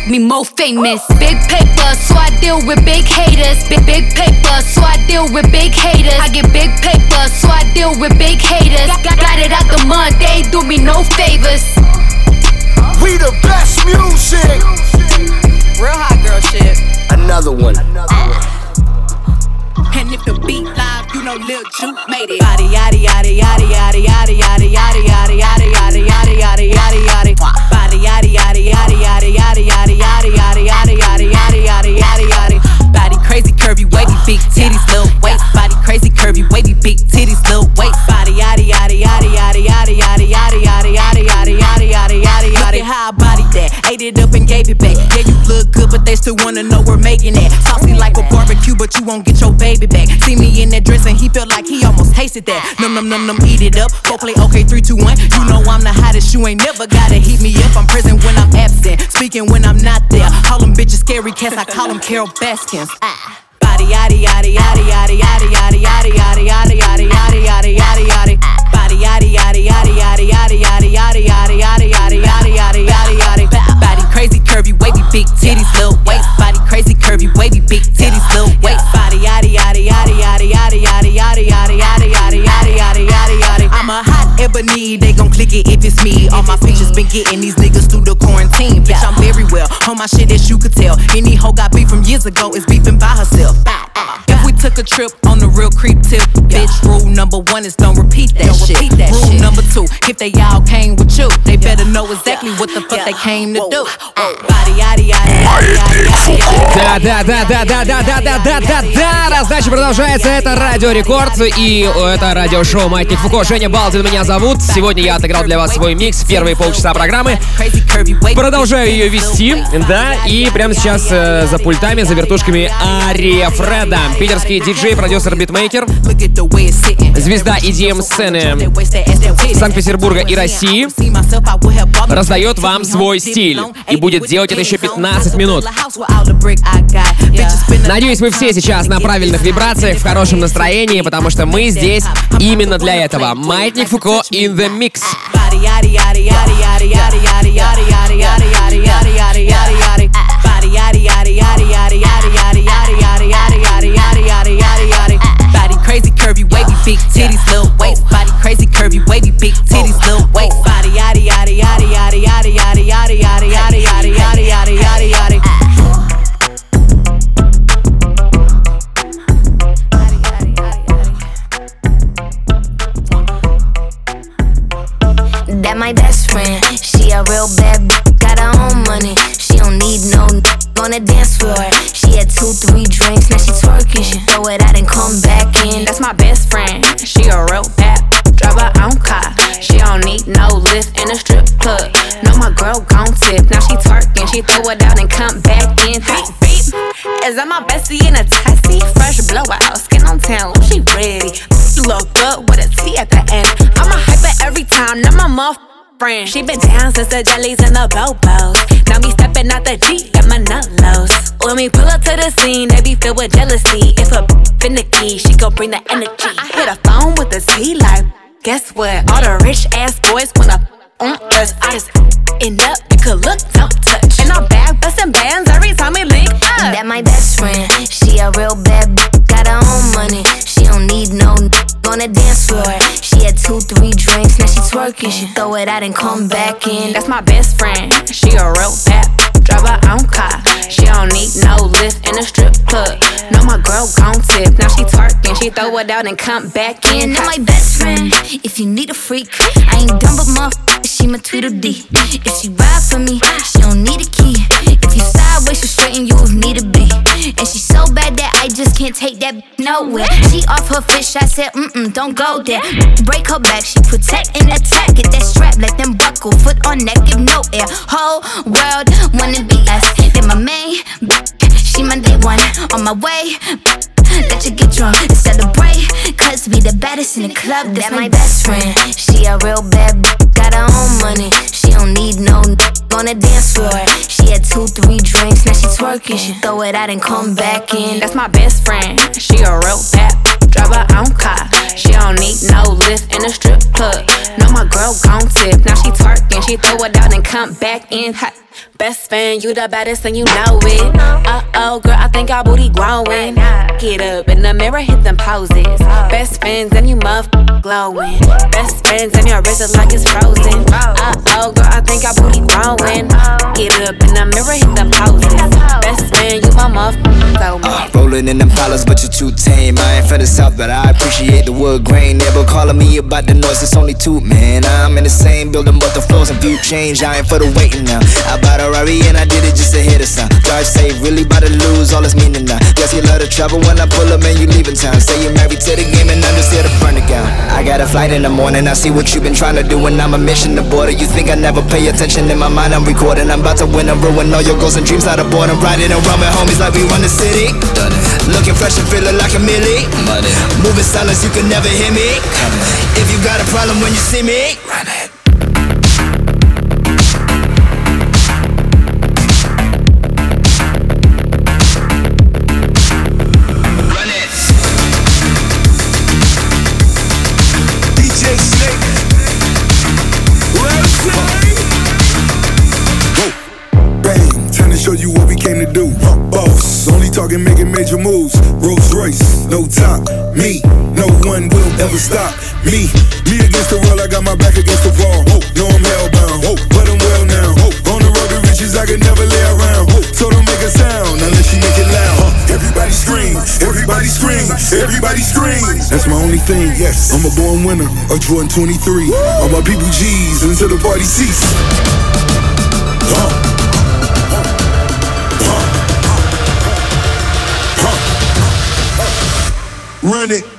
me more famous. Big paper, so I deal with big haters. Big paper, so I deal with big haters. I get big paper, so I deal with big haters. Got it out the mud, they ain't do me no favors. We the best music. Real hot girl shit. Another one. And if the beat live, you know Lil Juke made it. Body yaddy yaddy yaddy yaddy yaddy yaddy yaddy yaddy yaddy yaddy yaddy yaddy yaddy yaddy. Body yaddy yaddy yaddy yaddy yaddy yaddy yaddy yaddy yaddy yaddy yaddy yaddy yaddy yaddy. Body crazy curvy wavy big titties little waist. Body crazy curvy wavy big titties little waist. Body yaddy yaddy yaddy yaddy yaddy yaddy yaddy yaddy yaddy yaddy yaddy yaddy yaddy. Look at how I bodied that, ate it up and gave it back. Yeah, you look good, but they still wanna know we're making it. Saucy like a barbecue, but you won't get your baby back. See me in that dress and he felt like he almost tasted that. Num num num num, eat it up. Go play okay, 3, 2, 1. You know I'm the hottest, you ain't never gotta heat me up. I'm present when I'm absent, speaking when I'm not there. Call them bitches scary cats, I call them Carol Baskins. Body yaddy yaddy yaddy yaddy yaddy yaddy yaddy yaddy yaddy yaddy yaddy yaddy yaddy yaddy. Body yaddy yaddy yaddy yaddy yaddy yaddy yaddy yaddy yaddy yaddy yaddy yaddy yaddy yaddy. Body crazy curvy wavy big titties little waist. Body crazy curvy wavy big titties little waist. Body yaddy yaddy yaddy yaddy yaddy yaddy yaddy yaddy yaddy yaddy yaddy yaddy yaddy yaddy. I'm a hot ebony, they gon' click it if it's me. All my pictures been getting these niggas through the quarantine. Bitch, I'm very well on my shit as you could tell. Any hoe got beef from years ago is beefing by herself. If we took a trip on the real creep tip, bitch, rule number 1 is don't repeat that shit. Rule number 2, if they all came with you, they better know exactly what the fuck they came to do. Body yaddy Да, раздача продолжается. Это Радио Рекорд и это радиошоу Маятник Фуко. Женя Балдин меня зовут. Сегодня я отыграл для вас свой микс в первые полчаса программы. Продолжаю ее вести, да, и прямо сейчас за пультами, за вертушками Ария Фреда, питерский диджей, продюсер, битмейкер, звезда EDM-сцены Санкт-Петербурга и России, раздает вам свой стиль и будет делать это еще 15 минут. Надеюсь, вы все сейчас на правильных вибрациях, в хорошем настроении, потому что мы здесь именно для этого. Маятник Фуко in the mix. Body crazy curvy wavy big titties little waist. Body crazy curvy wavy big titties little waist. Body yaddy yaddy yaddy yaddy yaddy yaddy yaddy yaddy yaddy yaddy yaddy yaddy yaddy yaddy. That my best friend, she a real bad bitch, got her own money. She don't need no on the dance floor. She had 2, 3 drinks, now she twerking. She throw it out and come back in. That's my best friend, she a real bad drive her own car. She don't need no lift in a strip club. No, my girl gon' tip, now she twerking. She throw it out and come back in. Beep, beep. Is that my bestie in a taxi? Fresh blowout, skin on town, she ready. Look good with a T at the end. I'm a hyper every time, not my motherfucking friend. She been down since the jellies and the bobos. Now me stepping out the Jeep, got my nut lows. When we pull up to the scene, they be filled with jealousy. If a finicky, she gon' bring the energy. I hit a phone with a T like, guess what? All the rich ass boys wanna on us. I just end up, you could look, don't touch. And I'm back bustin' bands every time we link up. That my best friend, she a real bad bitch, got her own money. She don't need no on the dance floor. She had 2, 3 drinks, now she twerking. She throw it out and come back in. That's my best friend, she a real bad drive her own car. She don't need no lift in a strip club. No, my girl gon' tip, now she twerking. She throw it out and come back in. That my best friend, if you need a freak, I ain't dumb but motherfucker, she my Tweedledee. If she ride for me, she don't need a key. If you sideways, she straighten you if need to be. And she so bad that I just can't take that nowhere. She off her fish, I said, don't go there. Break her back, she protect and attack. Get that strap, let them buckle, foot on neck, give no air. Whole world wanna be us. Then my main, she my day one. On my way, let you get drunk and celebrate. Cause we the baddest in the club, that's my best friend. She a real bad bitch, got her own money. She don't need no on the dance floor. She had 2, 3 drinks, now she twerking. She throw it out and come back in. That's my best friend, she a real bad drive her own car. She don't need no lift in a strip club. No, my girl gon' tip, now she twerking. She throw it out and come back in. Best friend, you the baddest and you know it. Uh-oh, girl, I think our booty growing. Get up in the mirror, hit them poses. Best friends and you glowing. Best friends and your wrist is like it's frozen. Uh-oh, girl, I think our booty growing. Get up in the mirror, hit them poses. Best friend, you my rolling in them dollars, but you're too tame. I ain't from the south, but I appreciate the wood grain. Never calling me about the noise, it's only two, man. I'm in the same building, but the floors and view change. I ain't for the waiting now. I bought a Rari and I did it just to hear the sound. Drive safe, really about to lose all its meaning now. Guess you love the trouble when I pull up and you leaving town. Say you're married to the game and I'm just here to burn it down. I got a flight in the morning, I see what you've been trying to do, and I'm a mission to border. You think I never pay attention? In my mind I'm recording. I'm about to win and ruin all your goals and dreams out of boredom. Riding around with homies like we run the city. Done it. Looking fresh and feeling like a millie. Money. Moving silence, you can never hear me. If you got a problem when you see me, run it. Show you what we came to do. Boss, only talking, making major moves. Rolls Royce, no top. Me, no one will ever stop me. Me against the world, I got my back against the wall. No, I'm hellbound, but I'm well now. On the road to riches, I can never lay around. So don't make a sound unless you make it loud. Everybody scream, everybody scream, everybody scream. That's my only thing. Yes, I'm a born winner of Jordan 23. All my people G's until the party cease. Run it.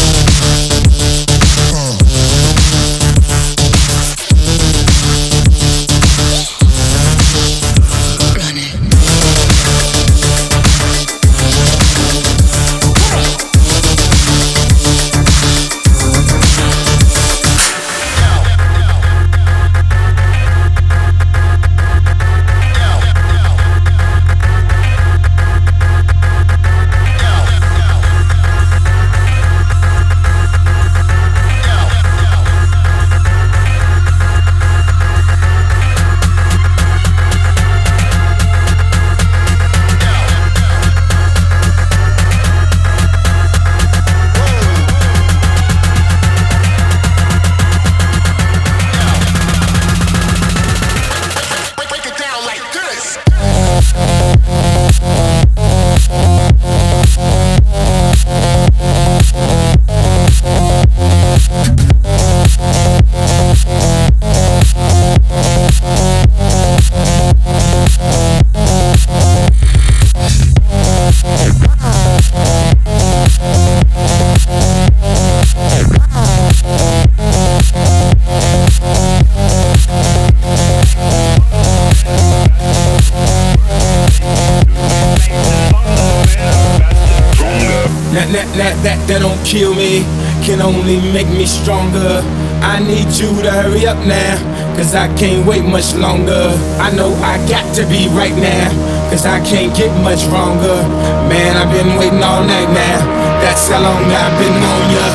That don't kill me, can only make me stronger. I need you to hurry up now, cause I can't wait much longer. I know I got to be right now, cause I can't get much wronger. Man, I've been waiting all night now, that's how long I've been on ya.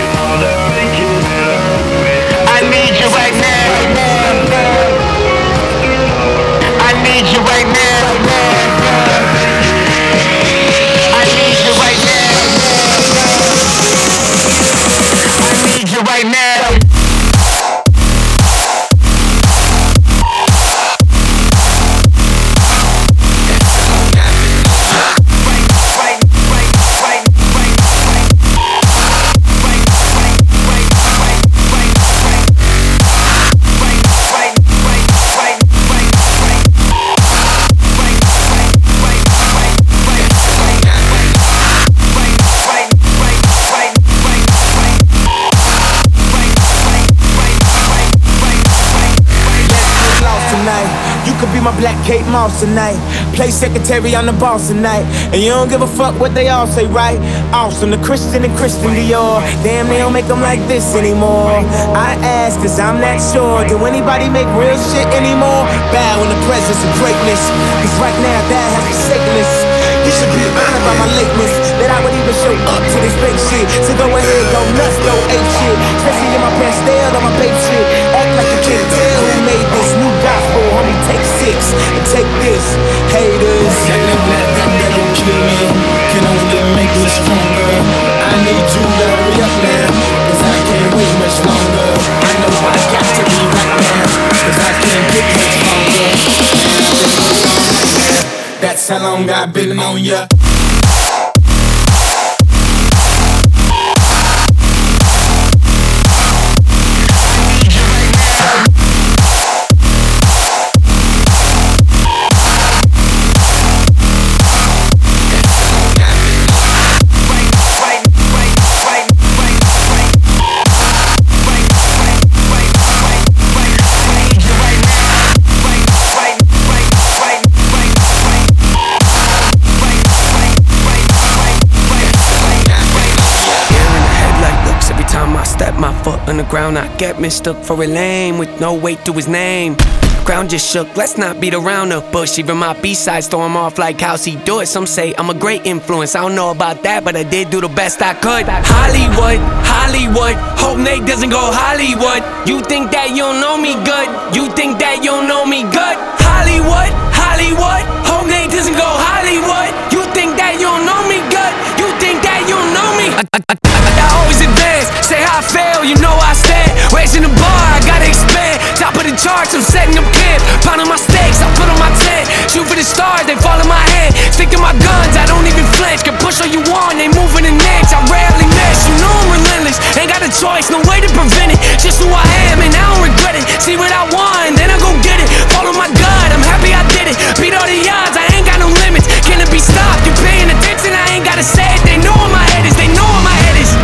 I need you right now. I need you right now. Right now. My black Kate Moss tonight. Play secretary on the boss tonight. And you don't give a fuck what they all say, right? Awesome, the Christian and Christian Dior. Damn, they don't make them like this anymore. I ask cause I'm not sure. Do anybody make real shit anymore? Bow in the presence of greatness, cause right now that has forsaken us. You should be honored by my lateness, that I would even show up to this big shit. So go ahead, go nuts, go ape shit. Especially in my pastel on my babe shit. Act like you can't tell who made this new gospel, homie, take 6 and take I've been on ya. My foot on the ground, I get mistook for a lame with no weight to his name. Ground just shook, let's not beat around the bush. Even my B-sides throw him off like how's he do it. Some say I'm a great influence, I don't know about that, but I did do the best I could. Hollywood, Hollywood, hope Nate doesn't go Hollywood. You think that you don't know me good, you think that you don't know me good. Hollywood, Hollywood, hope Nate doesn't go Hollywood. You think that you don't know me good, you think that you don't know me. I always advance, say how I fail, you know I stand. Raising the bar, I gotta expand. Top of the charts, I'm setting up camp. Pounding my stakes, I put on my tent. Shoot for the stars, they fall in my hand. Stick to my guns, I don't even flinch. Can push all you want, they moving an inch. I rarely miss, you know I'm relentless. Ain't got a choice, no way to prevent it. Just who I am and I don't regret it. See what I want, then I go get it. Follow my gut, I'm happy I did it. Beat all the odds, I ain't got no limits. Can it be stopped? You paying attention, I ain't gotta say it. They know where my head is, they know where my head is.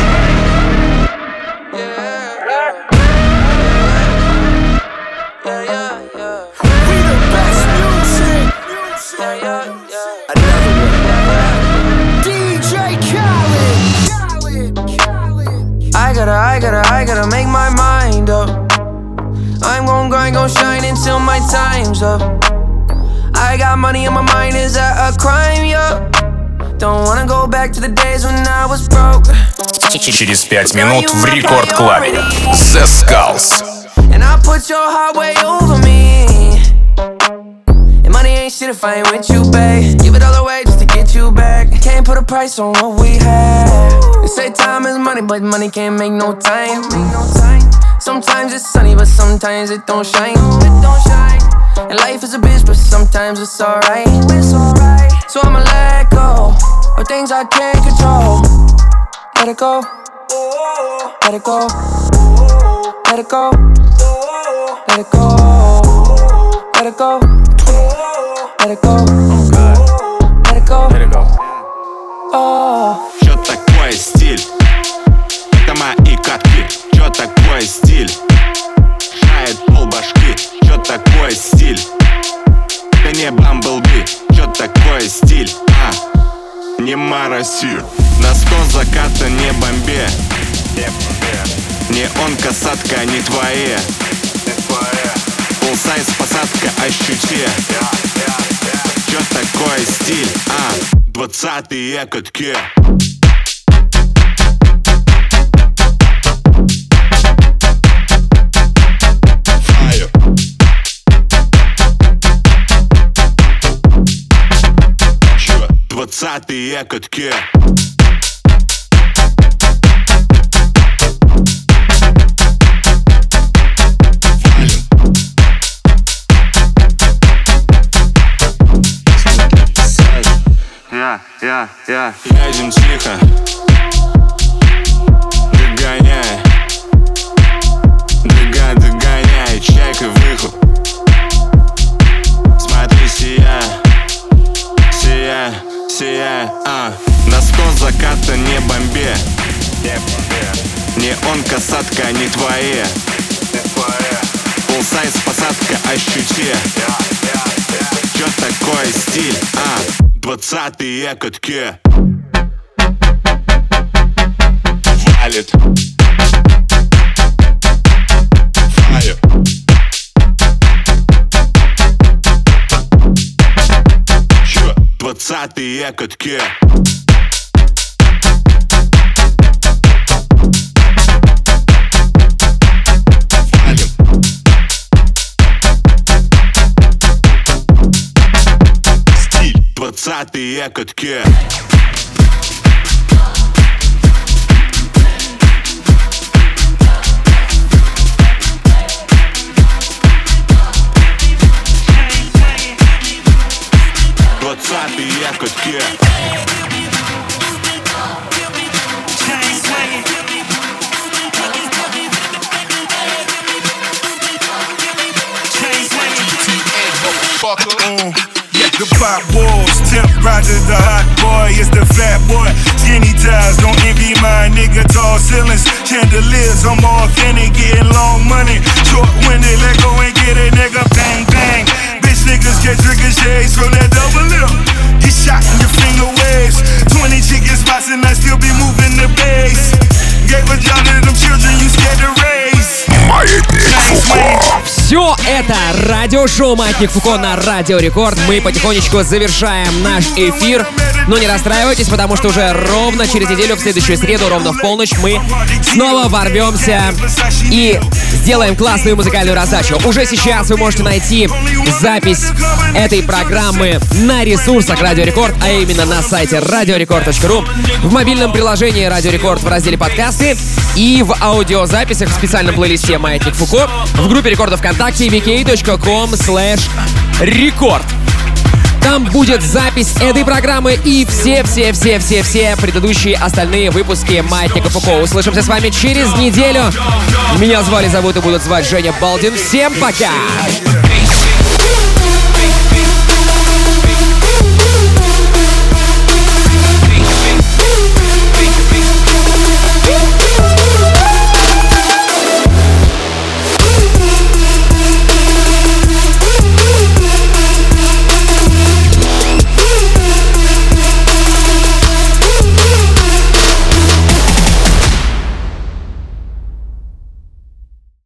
I gotta make my mind up. I'm gon' grind, gon' shine until my time's up. I got money on my mind, is that a crime, yo? Don't wanna go back to the days when I was broke. Через 5 минут в рекорд-клабе The Skulls. And I put your heart way over me. And money ain't shit if I ain't with you, babe. Give it all away just to get you back. Can't put a price on what we had. They say time is money, but money can't make no time. Sometimes it's sunny, but sometimes it don't shine. And life is a bitch, but sometimes it's alright. So I'ma let go of things I can't control. Let it go. Let it go. Let it go. Let it go. Let it go. Let it go. Let it go. Let it go. Oh. Чё такое стиль? Это мои катки. Чё такое стиль? Шает полбашки. Чё такое стиль? Это не Бамблби. Чё такое стиль? Не Мараси. На 100 заката не бомбе. Не он касатка, не твои. Фулл-сайз посадка, ощути. Чё такое стиль? 20-е катки. Fire. 20-е катки. Едем тихо, догоняй, догоняй, чайка выхлоп. Смотри, сияй, на 100 заката не бомбе. Не он касатка, не твои. Фулл-сайз посадка, ощути. Чё такое стиль? 20-е катки. Валит. Fire. Чё? 20-е катки. Валим. Стиль. 20-е катки. The pop walls, Temp Rogers, the hot boy, it's the fat boy. Skinny ties, don't envy my nigga. Tall ceilings, chandeliers, I'm authentic, getting long money. Short-winded, let go and get it, nigga. Bang, bang. Bitch niggas get ricochets from that double lip. Get shot in your finger waves. 20 chicken spots and I still be moving the base. Gave a job to them children, you scared to raise. Все это радиошоу «Маятник Фуко» на Радио Рекорд. Мы потихонечку завершаем наш эфир. Но не расстраивайтесь, потому что уже ровно через неделю, в следующую среду, ровно в полночь, мы снова ворвемся и сделаем классную музыкальную раздачу. Уже сейчас вы можете найти запись этой программы на ресурсах Радио Рекорд, а именно на сайте radiorecord.ru, в мобильном приложении Радио Рекорд в разделе «Подкасты» и в аудиозаписях в специальном плейлисте «Маятник Фуко» в группе рекордов ВКонтакте vk.com/record. Там будет запись этой программы и все предыдущие остальные выпуски «Маятника Фуко». Услышимся с вами через неделю. Меня зовут и будут звать Женя Балдин. Всем пока!